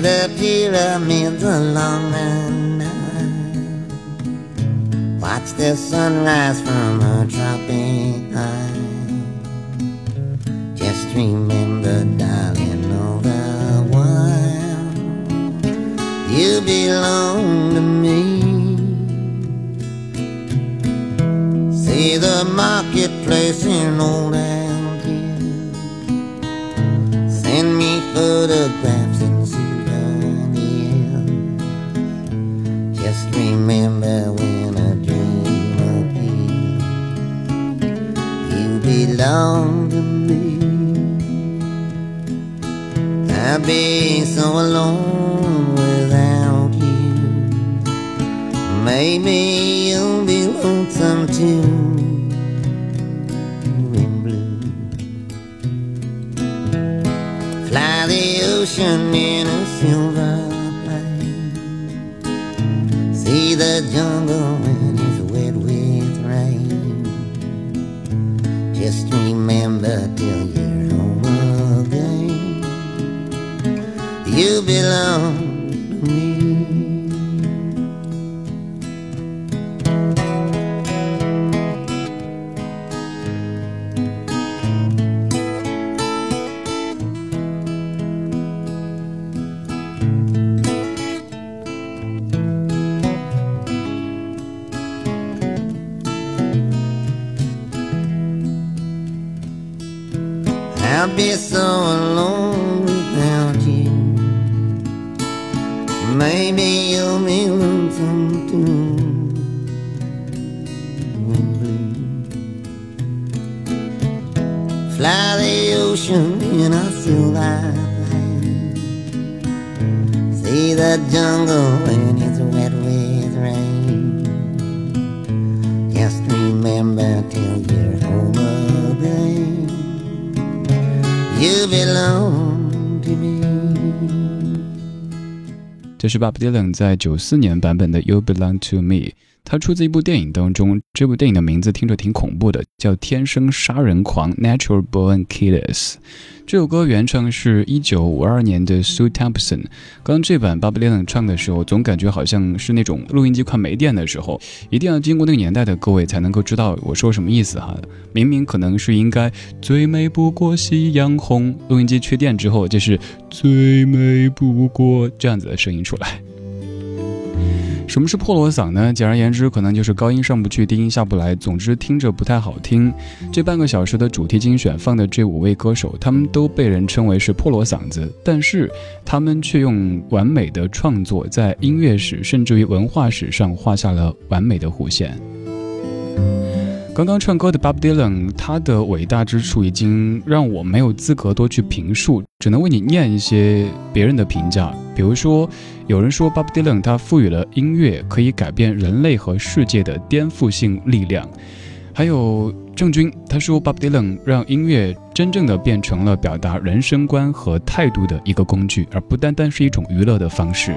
the pyramids along the Nile. Watch the sunrise from a tropic high. Just remember, darling, all the while you belong to me. See the marketplace in old Algiers. Send me photographs and souvenirs. Just remember when a dream appears, you belong to me. I'd be so alone without you. Maybe you'll be lonesome too. Fly the ocean in a silver plane. See the jungle when it's wet with rain. Just remember till you're home again, you belong to me. I'll be so alone without you. Maybe you'll be lonesome too. Fly the ocean in a silver plane. See the jungle when it's wet with rain. Just remember till you're home again, you belong to me. 这是 Bob Dylan 在94年版本的 You Belong to Me， 它出自一部电影当中，这部电影的名字听着挺恐怖的，叫天生杀人狂 Natural Born Killers。 这首歌原唱是1952年的 Sue Thompson。 刚这版 Bob Dylan 唱的时候，总感觉好像是那种录音机快没电的时候，一定要经过那个年代的各位才能够知道我说什么意思哈。明明可能是应该最美不过夕阳红，录音机缺电之后就是最美不过这样子的声音出来。什么是破锣嗓呢？简而言之，可能就是高音上不去，低音下不来，总之听着不太好听。这半个小时的主题精选放的这5位歌手，他们都被人称为是破锣嗓子，但是他们却用完美的创作，在音乐史甚至于文化史上画下了完美的弧线。刚刚唱歌的 Bob Dylan， 他的伟大之处已经让我没有资格多去评述，只能为你念一些别人的评价。比如说，有人说 Bob Dylan 他赋予了音乐可以改变人类和世界的颠覆性力量。还有郑钧，他说 Bob Dylan 让音乐真正的变成了表达人生观和态度的一个工具，而不单单是一种娱乐的方式。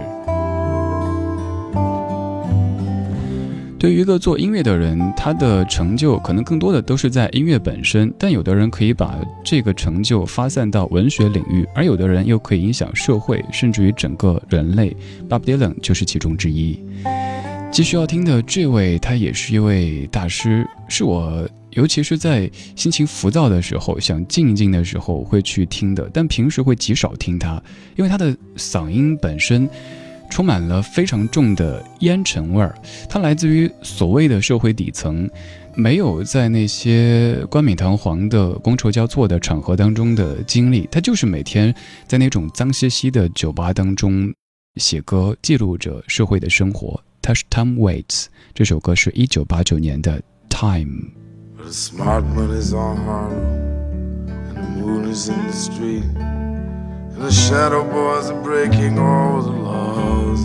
对于一个做音乐的人，他的成就可能更多的都是在音乐本身，但有的人可以把这个成就发散到文学领域，而有的人又可以影响社会，甚至于整个人类。 Bob Dylan 就是其中之一。继续要听的这位，他也是一位大师，是我尤其是在心情浮躁的时候，想静一静的时候会去听的，但平时会极少听他，因为他的嗓音本身充满了非常重的烟尘味儿，它来自于所谓的社会底层，没有在那些冠冕堂皇的觥筹交错的场合当中的经历，他就是每天在那种脏兮兮的酒吧当中写歌，记录着社会的生活。他是 Tom Waits， 这首歌是1989年的 Time。 The smart money's on Harlem, and the moon is in the street, and the shadow boys are breaking all the laws.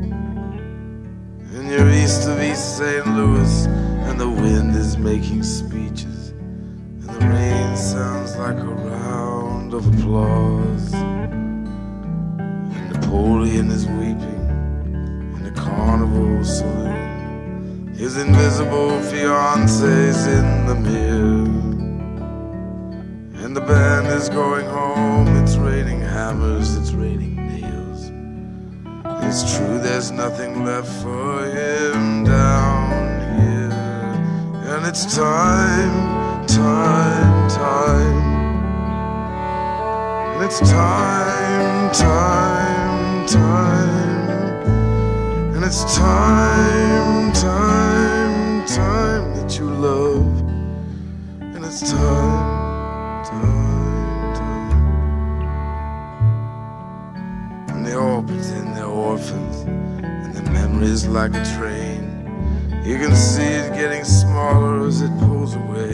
And you're east of East St. Louis, and the wind is making speeches, and the rain sounds like a round of applause. And Napoleon is weeping in the carnival saloon. His invisible fiance's in the mirror, and the band is going home. It's raining hammers, it's raining nails, it's true there's nothing left for him down here. And it's time, time, time. And it's time, time, time. And it's time, time, time that you love. And it's time, time, time. And they all pretend they're orphans, and their memory's like a train. You can see it getting smaller as it pulls away.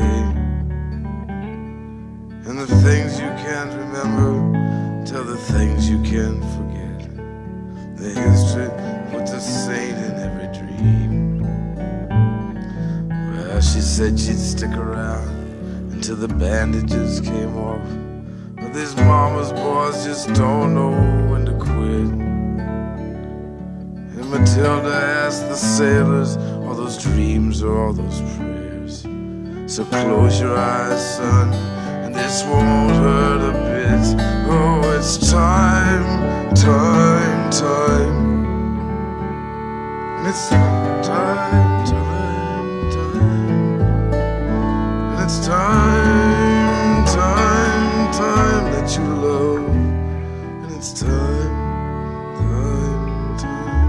And the things you can't remember tell the things you can't forget. The history puts a saint in every dream. Well, she said she'd stick around until the bandages came off. But these mama's boys just don't know when to quit. And Matilda asked the sailors, all those dreams or all those prayers. So close your eyes, son, and this won't hurt a bit. Oh, it's time, time, time. And it's time, time, time. And it's time, time, time that you love. And it's time, time, time.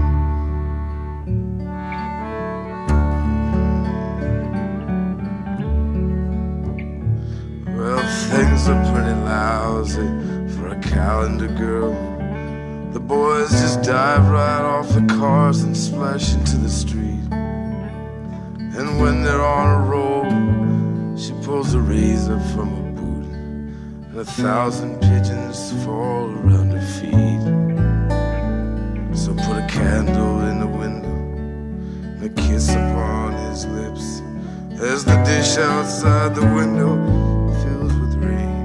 Well, things are pretty lousy for a calendar girl. The boys just dive right off the cars and splash into the street. And when they're on a roll, she pulls a razor from a boot, and 1,000 pigeons fall around her feet. So put a candle in the window and a kiss upon his lips, as the dish outside the window fills with rain.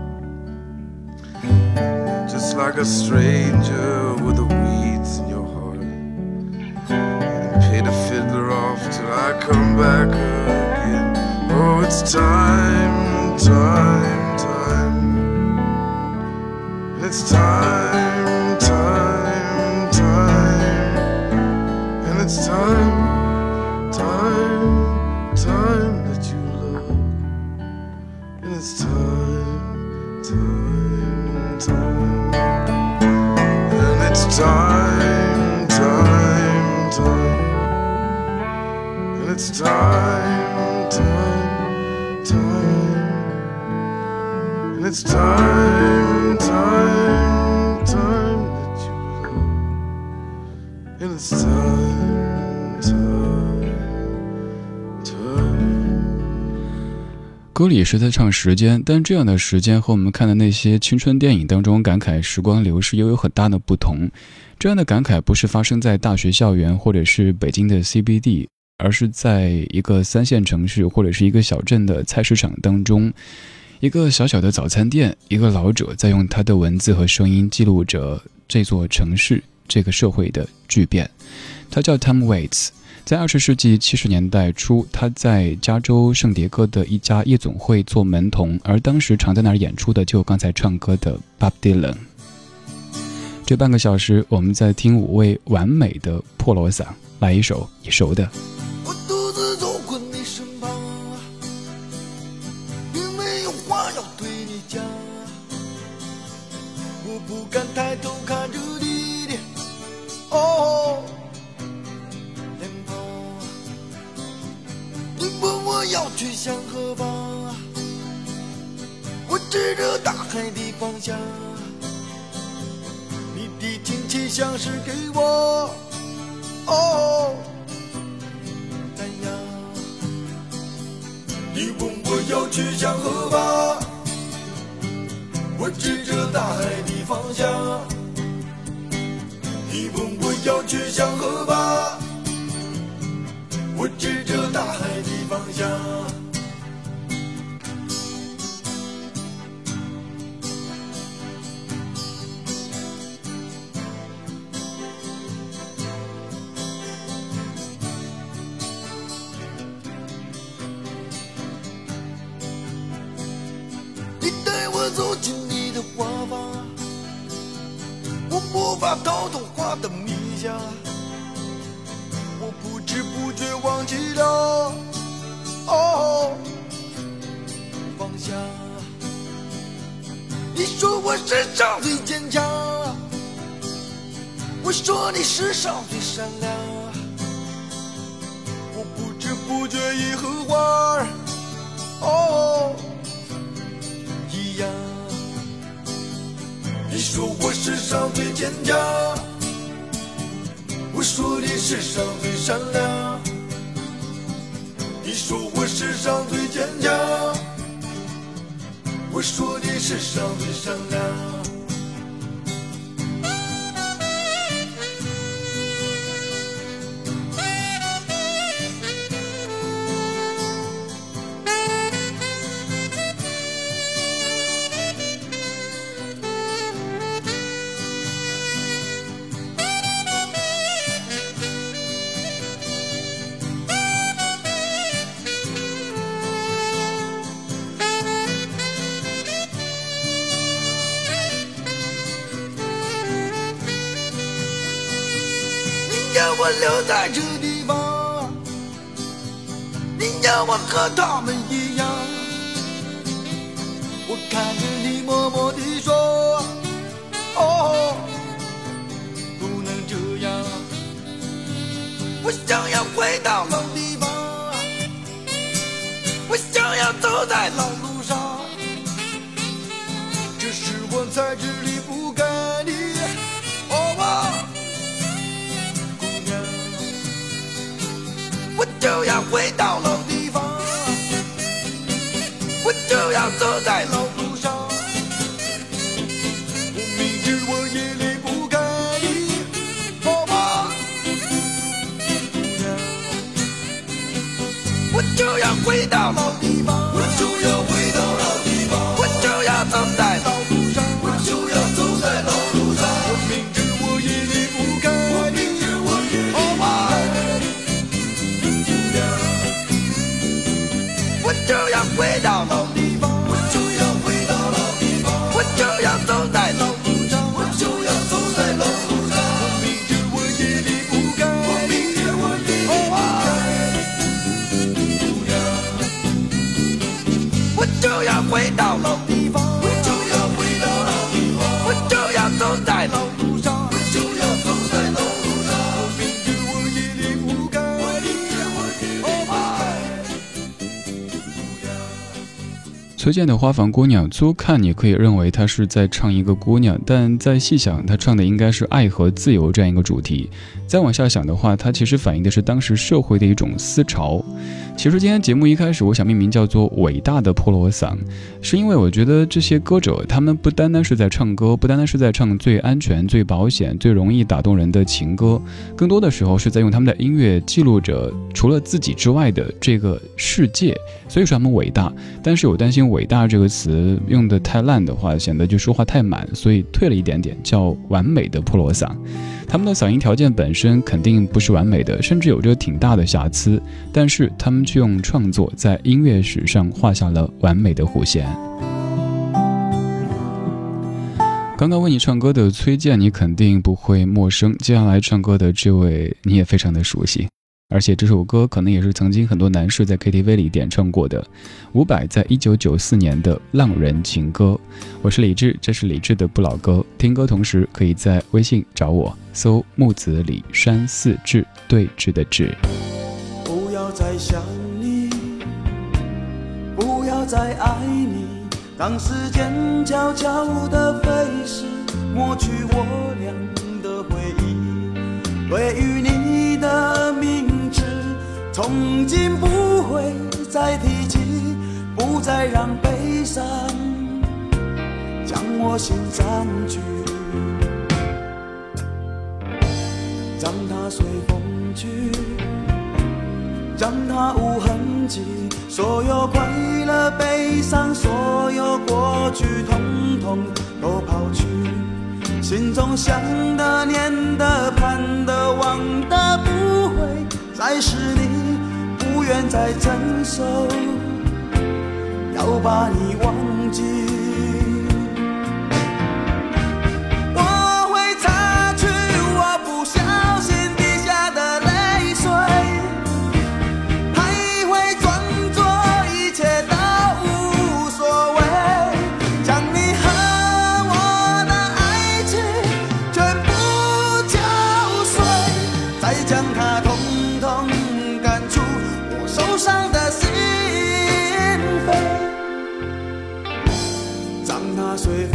Just like a stranger with the weeds in your heart. And pay the fiddler off till I come back again. Oh, it's time, time, time. And it's time, time, time. And it's time, time, time that you love. And it's time, time, time. And it's time, time, time. And it's time, time, time. And it's time, time, time that you love. And it's time, time, time. 歌里是在唱时间，但这样的时间和我们看的那些青春电影当中感慨时光流逝又有很大的不同。这样的感慨不是发生在大学校园或者是北京的 CBD， 而是在一个3线城市或者是一个小镇的菜市场当中，一个小小的早餐店，一个老者在用他的文字和声音记录着这座城市这个社会的巨变。他叫 Tom Waits，在20世纪70年代初，他在加州圣迭戈的一家夜总会做门童，而当时常在那儿演出的就有刚才唱歌的 Bob Dylan。这半个小时，我们在听5位完美的破锣嗓，来一首你熟的。 我独自走过你身旁，并没有话要对你讲，我不敢抬头看着你的脸庞。你问我要去向何方，我指着大海的方向，你的亲切像是给我丹阳。你问我要去向何方，我指着大海的方向。你问我要去向何方，我指着大海的方向。你带我走进你的花房，我无法逃脱花的迷香。 下，我不知不觉忘记了，哦，放下。你说我世上最坚强，我说你世上最善良，我不知不觉已和花儿，哦，一样。你说我世上最坚强，我说你世上最善良，你说我世上最坚强，我说你世上最善良。让我留在这地方，你让我和他们一样。我看着你默默地说，哦，不能这样。我想要回到老地方，我想要走在老路上，只是我在这里不该你，哦，我就要回到老地方，我就要走在老路上，我明知我也离不开你，好吧，我就要回到老地方，我就要回到老地方，我就要走在老路上，我就要走在老路上，我明知我也离不开你，我明知我也离不开你，我就要回到老地方，我就要回到老地方，我就要走在老路上，我就要走在老路上，我明知我也离不开，我明知我也离不开，我就要回到老地方，我就要回到老地方，我就要走在老路上，我就要走在老路上，我明知我也离不开，我明知我也离不开。 崔健的《花房姑娘》，粗看你可以认为她是在唱一个姑娘，但再细想，她唱的应该是爱和自由这样一个主题。再往下想的话，它其实反映的是当时社会的一种思潮。其实今天节目一开始，我想命名叫做“伟大的破锣嗓”，是因为我觉得这些歌者，他们不单单是在唱歌，不单单是在唱最安全、最保险、最容易打动人的情歌，更多的时候是在用他们的音乐记录着除了自己之外的这个世界。所以说他们伟大，但是我担心“伟大”这个词用的太烂的话，显得就说话太满，所以退了一点点，叫完美的破锣嗓。他们的嗓音条件本身肯定不是完美的，甚至有着挺大的瑕疵，但是他们却用创作在音乐史上画下了完美的弧线。刚刚为你唱歌的崔健你肯定不会陌生，接下来唱歌的这位你也非常的熟悉，而且这首歌可能也是曾经很多男士在 KTV 里点唱过的，伍佰在1994年的《浪人情歌》。我是李志，这是李志的不老歌，听歌同时可以在微信找我，搜木子李山寺志，对峙的志。 不要再想你，不要再爱你，当时间悄悄地飞逝，抹去我俩的回忆，对于你的名字从今不会再提起，不再让悲伤将我心占据，让它随风去，让它无痕迹，所有快乐悲伤，所有过去统统都抛去，心中想的念的盼的望的不会再是你，不愿再承受，要把你忘记，我会擦去我不小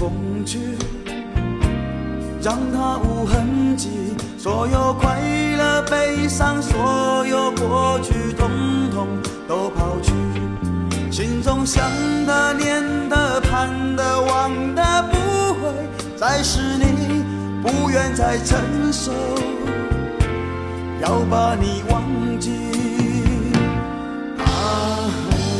风去，让它无痕迹，所有快乐悲伤，所有过去统统都抛去，心中想的念的盼的望的不会再是你，不愿再承受，要把你忘记啊。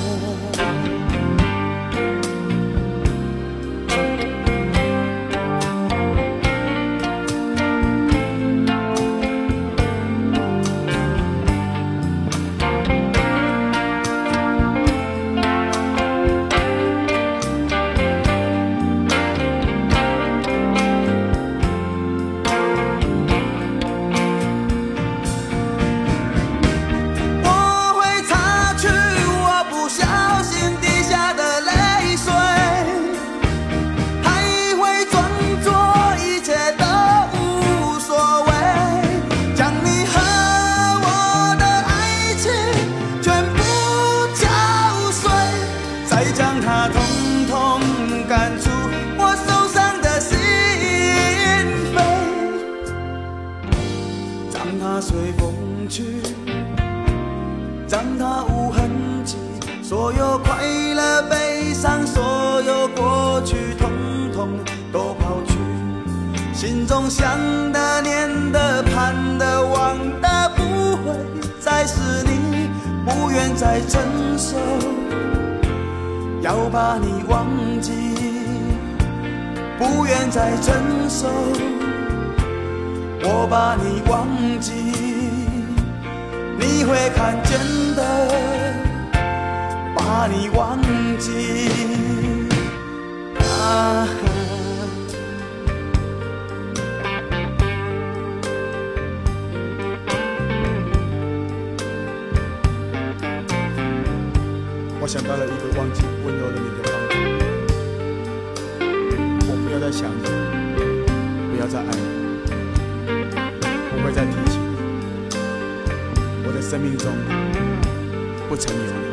随风去，让它无痕迹，所有快乐悲伤，所有过去统统都抛去，心中想的念的盼的望的不会再是你，不愿再承受，要把你忘记，不愿再承受，我把你忘记，你会看见的，把你忘记啊。 我想到了一个忘记温柔的你的方法，我不要再想你，不要再爱你，不会再提起你，我的生命中不曾有你。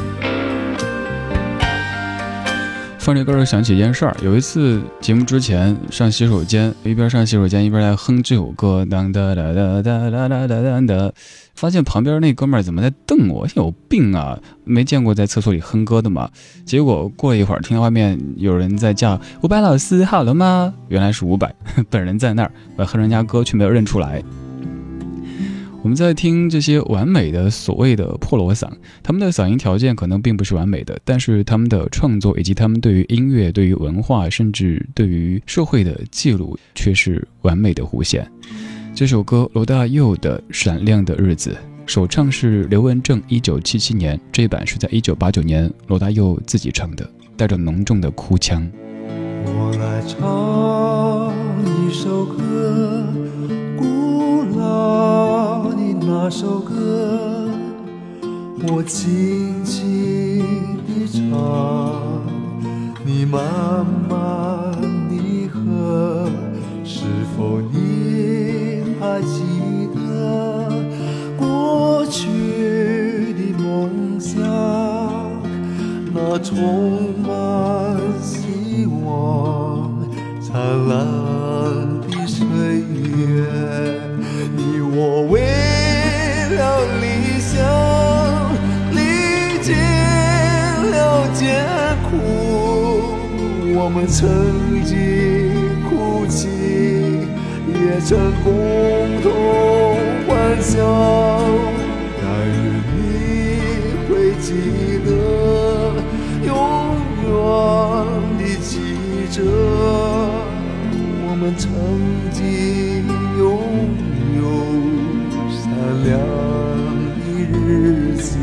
放这歌想起一件事儿，有一次节目之前上洗手间，一边上洗手间一边在哼这首歌，当哒哒哒哒哒哒哒哒，发现旁边那哥们儿怎么在瞪我，有病啊！没见过在厕所里哼歌的嘛。结果过了一会儿，听到外面有人在叫伍佰老师好了吗？原来是伍佰本人在那儿，我哼人家歌却没有认出来。我们在听这些完美的所谓的破锣嗓，他们的嗓音条件可能并不是完美的，但是他们的创作以及他们对于音乐、对于文化，甚至对于社会的记录却是完美的弧线。这首歌罗大佑的《闪亮的日子》，首唱是刘文正1977年，这版是在1989年罗大佑自己唱的，带着浓重的哭腔。 我来唱一首歌，古老的那首歌，我轻轻地唱，你慢慢地和，是否你还记得过去的梦想，那充满希望灿烂的岁月，你我为了理想历经了艰苦，我们曾经哭泣，也曾共同幻想，但愿你会记得，永远地记着我们曾经拥有闪亮的日子。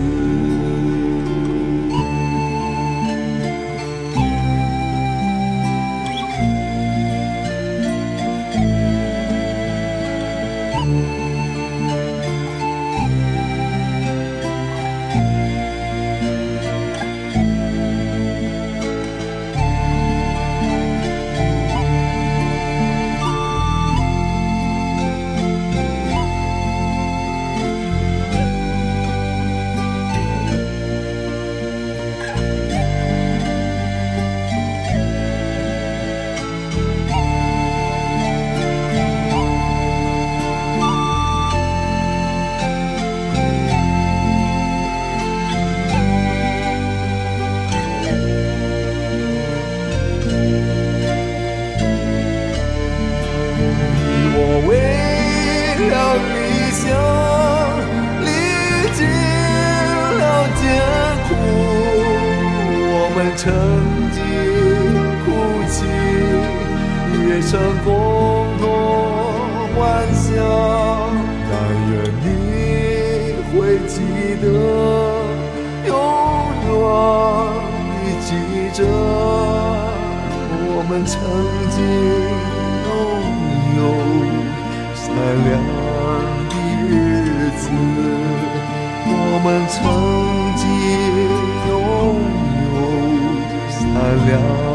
们曾经哭泣，也曾共同欢笑，但愿你会记得，永远地记着我们曾经拥有善良的日子，我们曾经拥有善良